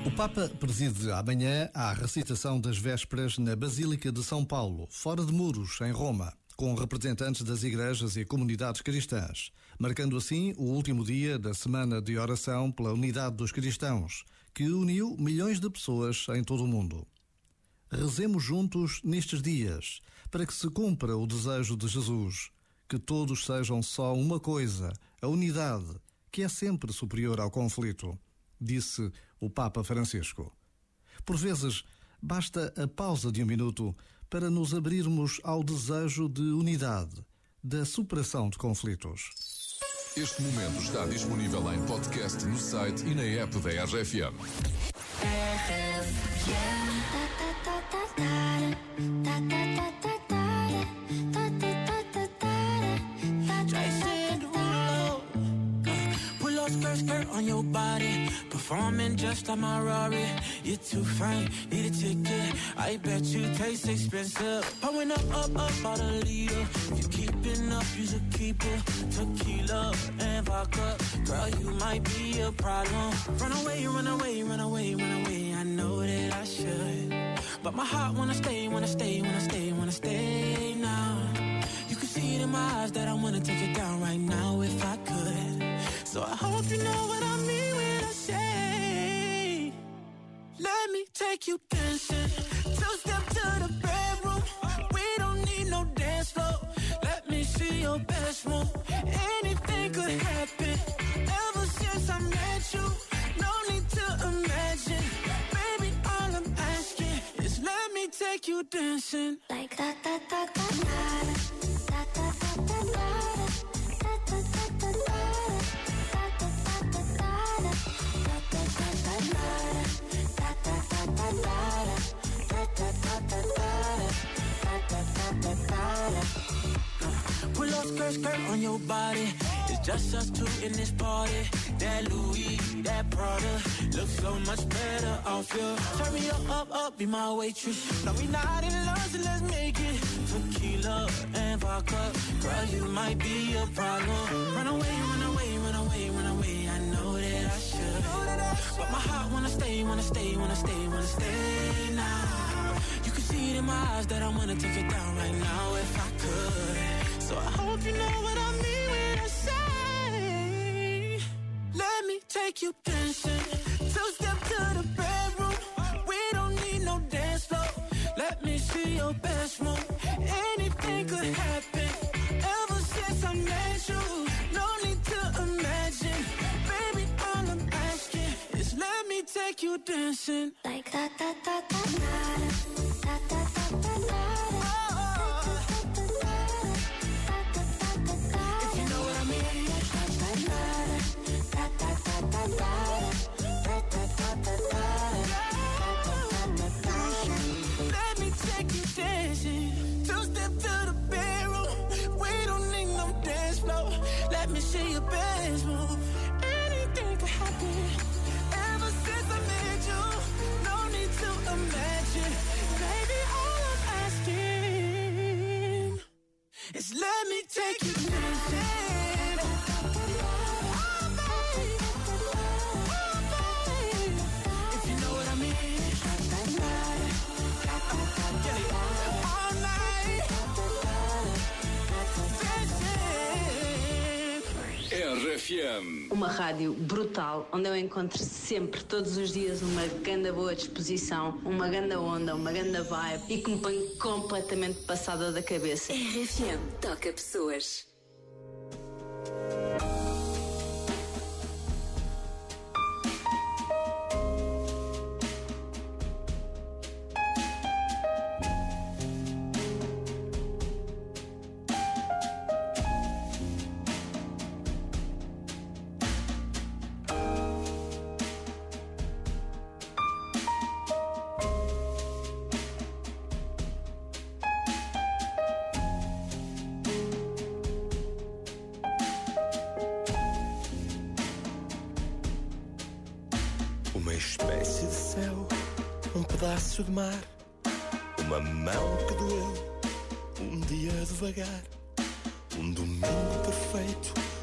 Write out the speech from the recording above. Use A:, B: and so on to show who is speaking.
A: O Papa preside amanhã a recitação das vésperas na Basílica de São Paulo, fora de muros, em Roma, com representantes das igrejas e comunidades cristãs, marcando assim o último dia da semana de oração pela unidade dos cristãos, que uniu milhões de pessoas em todo o mundo. Rezemos juntos nestes dias, para que se cumpra o desejo de Jesus, que todos sejam só uma coisa, a unidade, que é sempre superior ao conflito, disse o Papa Francisco. Por vezes, basta a pausa de um minuto para nos abrirmos ao desejo de unidade, da superação de conflitos.
B: Este momento está disponível em podcast no site e na app da RFM.
C: Skirt on your body, performing just like my Rari. You're too fine, need a ticket. I bet you taste expensive. Pouring up about a liter. If you keeping up, you should keep it. Tequila and vodka, girl, you might be a problem. Run away, run away, run away, run away. I know that I should, but my heart wanna stay, wanna stay, wanna stay, wanna stay now. You can see it in my eyes that I wanna take it down right now if I could. So I hope you know what I mean when I say, let me take you dancing. Two-step to the bedroom. We don't need no dance floor. Let me see your best move. Anything could happen. Ever since I met you, no need to imagine. Baby, all I'm asking is let me take you dancing.
D: Like da da da da da da da da da da.
C: Pull up skirt on your body. It's just us two in this party. That Louis, that Prada looks so much better off you. Turn me up, be my waitress. No, we not in love, so let's make it. Tequila and vodka, girl, you might be a problem. Run away, run away, run away, run away. I know that I should, but my heart wanna stay, wanna stay, wanna stay, wanna stay now. You can see it in my eyes that I wanna take it down right now if I could. So I hope you know what I mean when I say, let me take you dancing. Two-step to the bedroom. We don't need no dance floor. Let me see your best move. Anything could happen. Ever since I met you, no need to imagine. Baby, all I'm asking is let me take you dancing.
D: Like da da da da da da da da da.
C: See your best move. Anything could happen. Ever since I met you, no need to imagine. Baby, all I'm asking is let me take you dancing. Oh, babe. Oh, babe. If you know what I mean. Get it. All night.
B: RFM.
E: Uma rádio brutal, onde eu encontro sempre, todos os dias, uma ganda boa disposição, uma ganda onda, uma ganda vibe e que me põe completamente passada da cabeça.
F: RFM toca pessoas.
G: Uma espécie de céu, um pedaço de mar, uma mão que doeu, um dia devagar, um domingo perfeito,